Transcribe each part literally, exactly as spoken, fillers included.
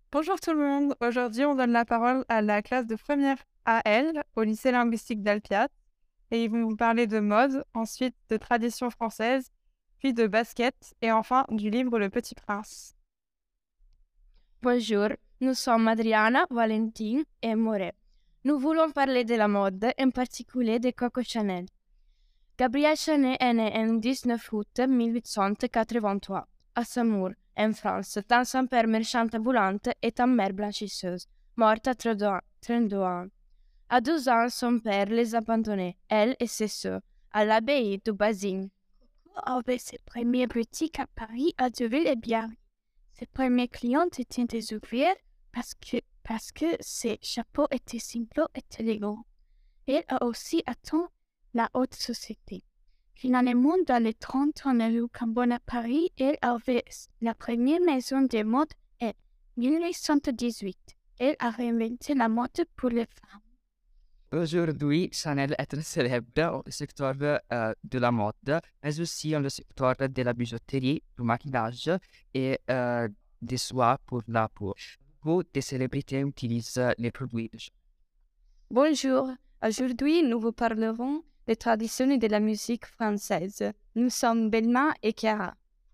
Bonjour tout le monde, aujourd'hui on donne la parole à la classe de première A L au lycée linguistique d'Alpiat et ils vont vous parler de mode, ensuite de tradition française, puis de basket et enfin du livre Le Petit Prince. Bonjour, nous sommes Adriana, Valentine et Moret. Nous voulons parler de la mode, en particulier de Coco Chanel. Gabrielle Chanel est née le dix-neuf août mille huit cent quatre-vingt-trois à Saumur, en France, dans son père marchand ambulante et sa mère blanchisseuse, morte à trente-deux ans. À douze ans, son père les abandonnait, elle et ses sœurs, à l'abbaye de Basing. Coco avait ses premières boutiques à Paris, à Deauville et Biarritz. Ses premiers clients étaient des ouvriers parce que, parce que ses chapeaux étaient simples et élégants. Elle a aussi atteint la haute société. Finalement, dans les trente ans, rue Cambon à Paris, elle avait la première maison de mode en mille huit cent dix-huit. Elle a réinventé la mode pour les femmes. Aujourd'hui, Chanel est très célèbre dans le secteur euh, de la mode, mais aussi dans le secteur de la bijouterie, du maquillage et euh, des soins pour la peau. Beaucoup de célébrités utilisent les produits de Chanel. Bonjour, aujourd'hui nous vous parlerons des traditions de la musique française. Nous sommes Belma et Chiara.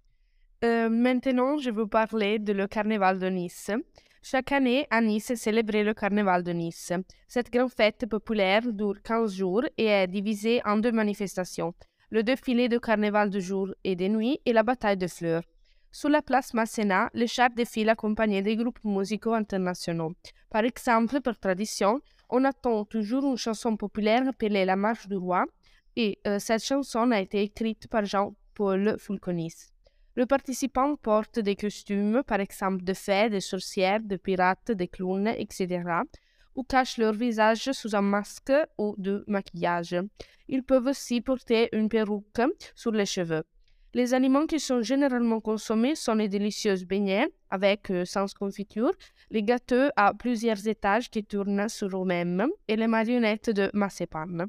Euh, maintenant, je vais vous parler de le carnaval de Nice. Chaque année, à Nice est célébré le carnaval de Nice. Cette grande fête populaire dure quinze jours et est divisée en deux manifestations. Le défilé de carnaval de jour et de nuit et la bataille de fleurs. Sur la place Masséna, les chars défilent accompagnés des groupes musicaux internationaux. Par exemple, par tradition, on attend toujours une chanson populaire appelée La Marche du Roi et euh, cette chanson a été écrite par Jean-Paul Fulconis. Les participants portent des costumes, par exemple de fées, de sorcières, de pirates, de clowns, et cetera, ou cachent leur visage sous un masque ou de maquillage. Ils peuvent aussi porter une perruque sur les cheveux. Les aliments qui sont généralement consommés sont les délicieuses beignets avec euh, sans confiture, les gâteaux à plusieurs étages qui tournent sur eux-mêmes et les marionnettes de marzipan.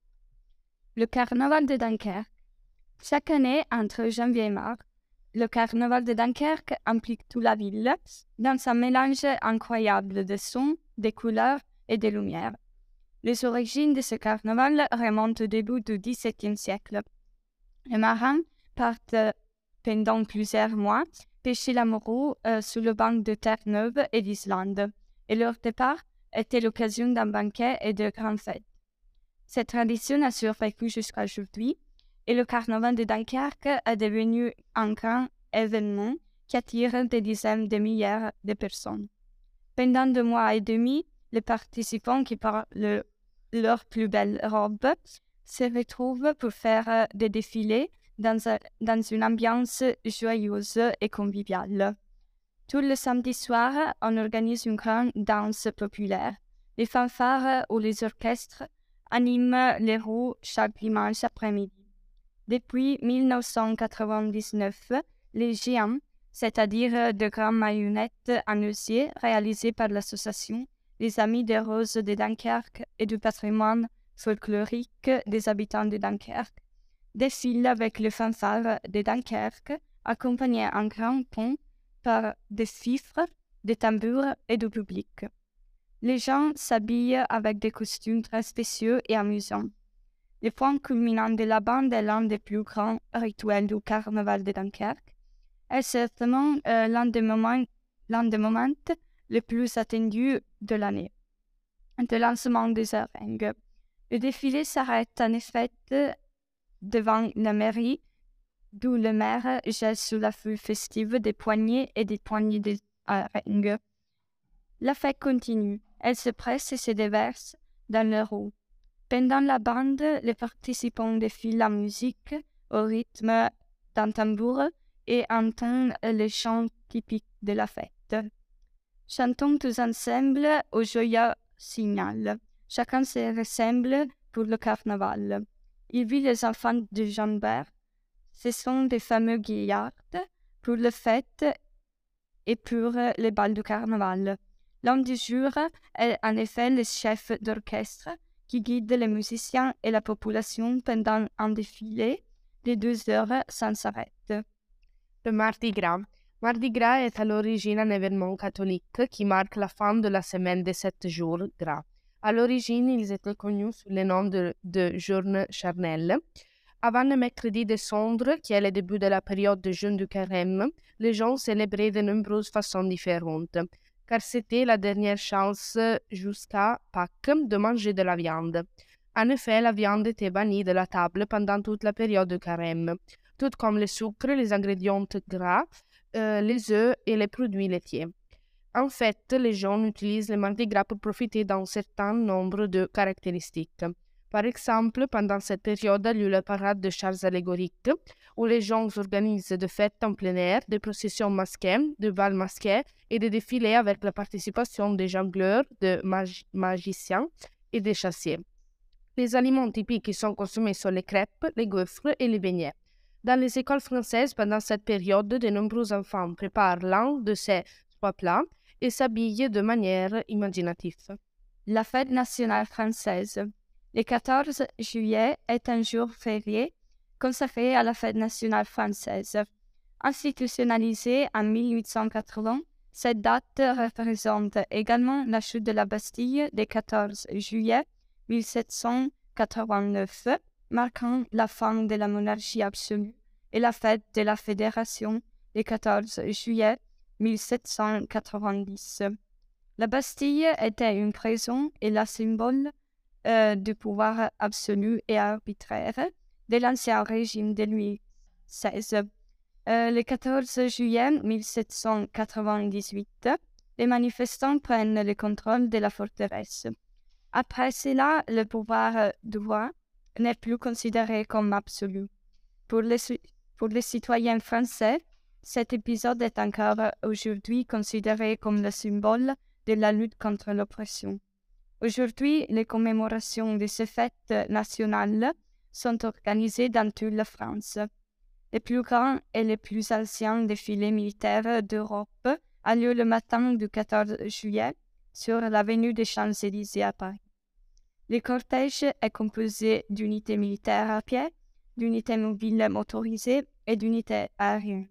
Le carnaval de Dunkerque. Chaque année, entre janvier et mars, le carnaval de Dunkerque implique toute la ville dans un mélange incroyable de sons, de couleurs et de lumières. Les origines de ce carnaval remontent au début du dix-septième siècle. Les marins partent pendant plusieurs mois pêcher la morue euh, sur le banc de Terre-Neuve et d'Islande, et leur départ était l'occasion d'un banquet et de grandes fêtes. Cette tradition a survécu jusqu'à aujourd'hui, et le carnaval de Dunkerque est devenu un grand événement qui attire des dizaines de milliers de personnes. Pendant deux mois et demi, les participants qui portent le, leurs plus belles robes se retrouvent pour faire des défilés dans, un, dans une ambiance joyeuse et conviviale. Tout le samedi soir, on organise une grande danse populaire. Les fanfares ou les orchestres animent les rues chaque dimanche après-midi. Depuis mille neuf cent quatre-vingt-dix-neuf, les géants, c'est-à-dire de grandes marionnettes en osier réalisées par l'association Les Amis des Roses de Dunkerque et du patrimoine folklorique des habitants de Dunkerque, défilent avec le fanfare de Dunkerque, accompagnés en grand pont par des fifres, des tambours et du public. Les gens s'habillent avec des costumes très spéciaux et amusants. Le point culminant de la bande est l'un des plus grands rituels du carnaval de Dunkerque est certainement euh, l'un, des moments, l'un des moments les plus attendus de l'année, le lancement des seringues. Le défilé s'arrête en effet devant la mairie, d'où le maire jette sous la foule festive des poignées et des poignées de seringues. La fête continue, elle se presse et se déverse dans le roues. Pendant la bande, les participants défilent la musique au rythme d'un tambour et entendent les chants typiques de la fête. Chantons tous ensemble au joyeux signal. Chacun se ressemble pour le carnaval. Il vit les enfants de Jean Bert. Ce sont des fameux gaillards pour les fêtes et pour les balles du carnaval. L'un des jours est en effet le chef d'orchestre qui guide les musiciens et la population pendant un défilé de deux heures sans arrêt. Le Mardi Gras. Mardi Gras est à l'origine un événement catholique qui marque la fin de la semaine des sept jours gras. À l'origine, ils étaient connus sous le nom de, de journées charnelles. Avant le mercredi des cendres, qui est le début de la période de jeûne du carême, les gens célébraient de nombreuses façons différentes, car c'était la dernière chance jusqu'à Pâques de manger de la viande. En effet, la viande était bannie de la table pendant toute la période du carême, tout comme le sucre, les ingrédients gras, euh, les œufs et les produits laitiers. En fait, les gens utilisent le mardi gras pour profiter d'un certain nombre de caractéristiques. Par exemple, pendant cette période, il y a eu la parade de chars allégoriques, où les gens organisent des fêtes en plein air, des processions masquées, des bals masqués et des défilés avec la participation des jongleurs, des mag- magiciens et des chassiers. Les aliments typiques qui sont consommés sont les crêpes, les gaufres et les beignets. Dans les écoles françaises, pendant cette période, de nombreux enfants préparent l'un de ces trois plats et s'habillent de manière imaginative. La fête nationale française. Le quatorze juillet est un jour férié consacré à la fête nationale française. Institutionnalisée en mille huit cent quatre-vingts, cette date représente également la chute de la Bastille le quatorze juillet mille sept cent quatre-vingt-neuf, marquant la fin de la monarchie absolue, et la fête de la Fédération le quatorze juillet mille sept cent quatre-vingt-dix. La Bastille était une prison et le symbole euh, du pouvoir absolu et arbitraire de l'ancien régime de Louis seize. Euh, le quatorze juillet mille sept cent quatre-vingt-dix-huit, les manifestants prennent le contrôle de la forteresse. Après cela, le pouvoir du roi n'est plus considéré comme absolu. Pour les, pour les citoyens français, cet épisode est encore aujourd'hui considéré comme le symbole de la lutte contre l'oppression. Aujourd'hui, les commémorations de ces fêtes nationales sont organisées dans toute la France. Le plus grand et le plus ancien défilé militaire d'Europe a lieu le matin du quatorze juillet sur l'avenue des Champs-Élysées à Paris. Le cortège est composé d'unités militaires à pied, d'unités mobiles motorisées et d'unités aériennes.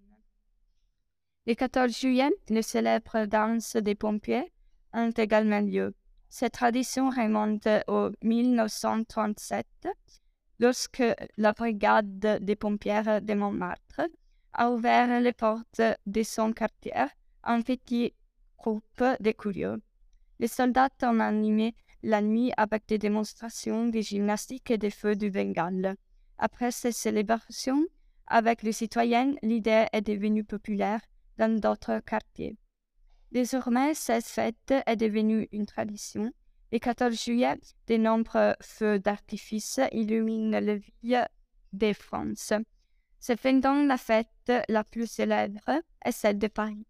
Le quatorze juillet, les célèbres danses des pompiers ont également lieu. Cette tradition remonte au mille neuf cent trente-sept, lorsque la brigade des pompiers de Montmartre a ouvert les portes de son quartier à un petit groupe de curieux. Les soldats ont animé la nuit avec des démonstrations de gymnastique et de feux du Bengale. Après ces célébrations, avec les citoyens, l'idée est devenue populaire dans d'autres quartiers. Désormais, cette fête est devenue une tradition. Le quatorze juillet, de nombreux feux d'artifice illuminent les villes de France. Cependant, la fête la plus célèbre est celle de Paris.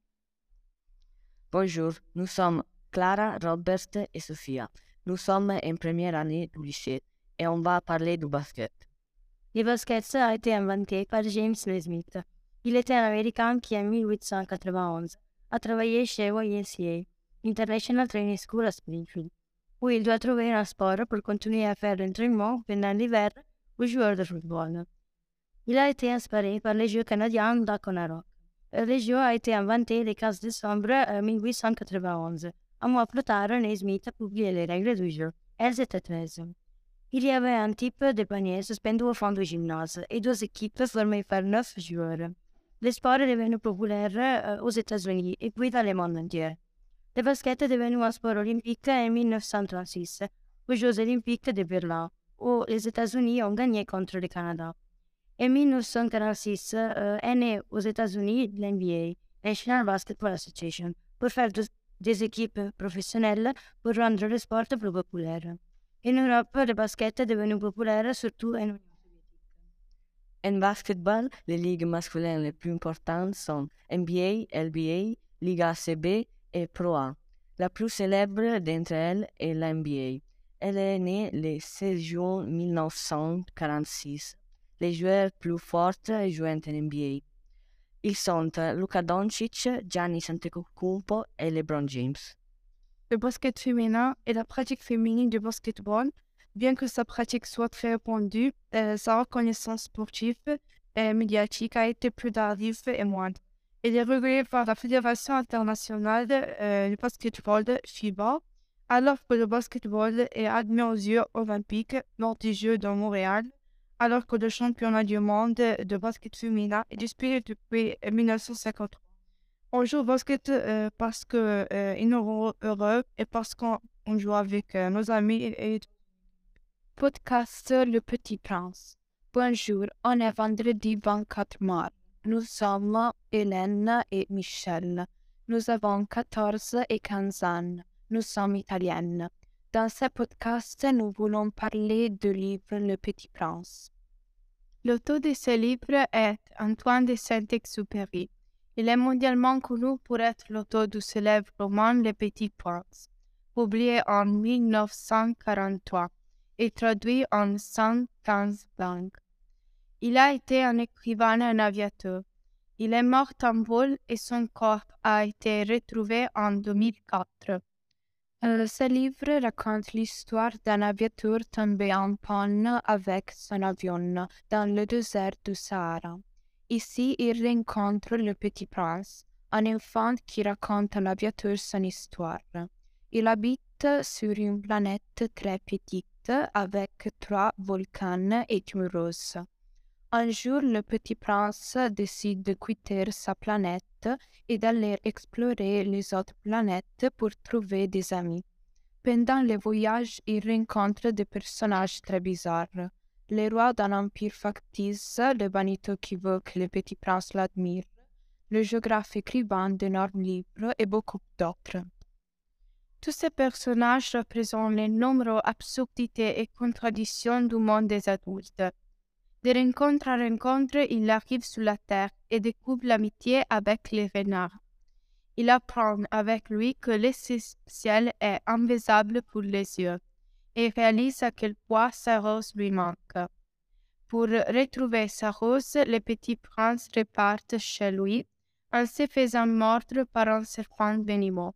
Bonjour, nous sommes Clara, Robert et Sofia. Nous sommes en première année du lycée et on va parler du basket. Le basket a été inventé par James Naismith. Il était un Américain qui, en mille huit cent quatre-vingt-onze, a travaillé chez Y M C A, International Training School à Springfield, où il doit trouver un sport pour continuer à faire l'entraînement pendant l'hiver aux joueurs de football. Il a été inspiré par les Jeux canadiens d'Aconarok. Les Jeux a été inventé le quinze décembre mille huit cent quatre-vingt-onze. Un mois plus tard, Naismith a publié les règles du jeu. Elles étaient treize. Il y avait un type de panier suspendu au fond du gymnase et deux équipes formées par neuf joueurs. Le sport est devenu populaire euh, aux États-Unis et puis dans le monde entier. Le basket est devenu un sport olympique en mille neuf cent trente-six, aux Jeux olympiques de Berlin, où les États-Unis ont gagné contre le Canada. En mille neuf cent quarante-six euh, est né aux États-Unis l'N B A, National Basketball Association, pour faire de, des équipes professionnelles pour rendre le sport plus populaire. En Europe, le basket est devenu populaire surtout en Union soviétique. En basketball, les ligues masculines les plus importantes sont N B A, L B A, Liga A C B et Pro A. La plus célèbre d'entre elles est la N B A. Elle est née le seize juin mille neuf cent quarante-six. Les joueurs plus forts jouent en N B A. Ils sont Luka Doncic, Giannis Antetokounmpo et LeBron James. Le basket féminin est la pratique féminine du basketball. Bien que sa pratique soit très répandue, euh, sa reconnaissance sportive et médiatique a été plus tardive et moindre. Il est reconnu par la Fédération internationale euh, du basketball FIBA, alors que le basketball est admis aux Jeux olympiques lors des Jeux de Montréal, alors que le championnat du monde de basket féminin est disputé depuis mille neuf cent cinquante-trois. On joue au basket euh, parce que euh, ils nous heureux et parce qu'on on joue avec euh, nos amis et, et Podcast Le Petit Prince. Bonjour, on est vendredi vingt-quatre mars. Nous sommes Hélène et Michel. Nous avons quatorze et quinze ans. Nous sommes italiennes. Dans ce podcast, nous voulons parler du livre Le Petit Prince. L'auteur de ce livre est Antoine de Saint-Exupéry. Il est mondialement connu pour être l'auteur du célèbre roman Le Petit Prince, publié en mille neuf cent quarante-trois et traduit en cent quinze langues. Il a été un écrivain et un aviateur. Il est mort en vol et son corps a été retrouvé en deux mille quatre. Euh, ce livre raconte l'histoire d'un aviateur tombé en panne avec son avion dans le désert du Sahara. Ici, il rencontre le Petit Prince, un enfant qui raconte à l'aviateur son histoire. Il habite sur une planète très petite avec trois volcans et une rose. Un jour, le Petit Prince décide de quitter sa planète et d'aller explorer les autres planètes pour trouver des amis. Pendant le voyage, il rencontre des personnages très bizarres. Le roi d'un empire factice, le Banito qui veut que le Petit Prince l'admire, le géographe écrivain d'énormes livres et beaucoup d'autres. Tous ces personnages représentent les nombreuses absurdités et contradictions du monde des adultes. De rencontre en rencontre, il arrive sur la terre et découvre l'amitié avec les renards. Il apprend avec lui que l'essentiel est invisible pour les yeux et réalise à quel point sa rose lui manque. Pour retrouver sa rose, le Petit Prince repart chez lui en se faisant mordre par un serpent venimeux.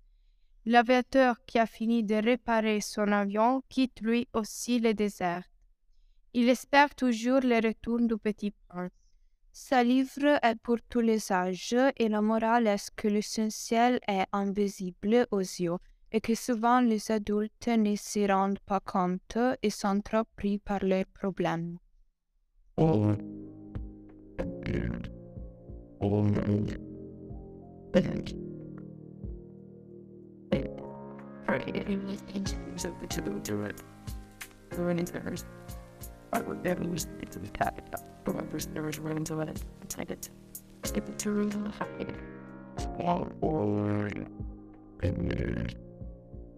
L'aviateur qui a fini de réparer son avion quitte lui aussi le désert. Il espère toujours le retour du Petit Prince. Ce livre est pour tous les âges et la morale est que l'essentiel est invisible aux yeux et que souvent les adultes ne s'y rendent pas compte et sont trop pris par leurs problèmes. I would never lose it to the cat. But my first nervous run into it. It's like it. Skip it to room. All boring.